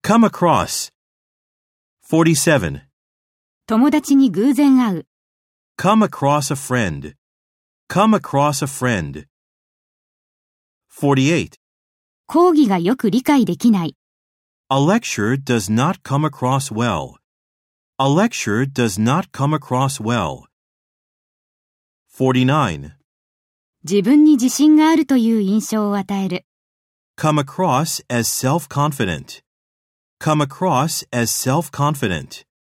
Come across. 47. 友達に偶然会う。 Come across a friend. Come across a friend. 48. 講義がよく理解できない。 A lecture does not come across well. A lecture does not come across well. 49. 自分に自信があるという印象を与える。 Come across as self-confident. Come across as self-confident.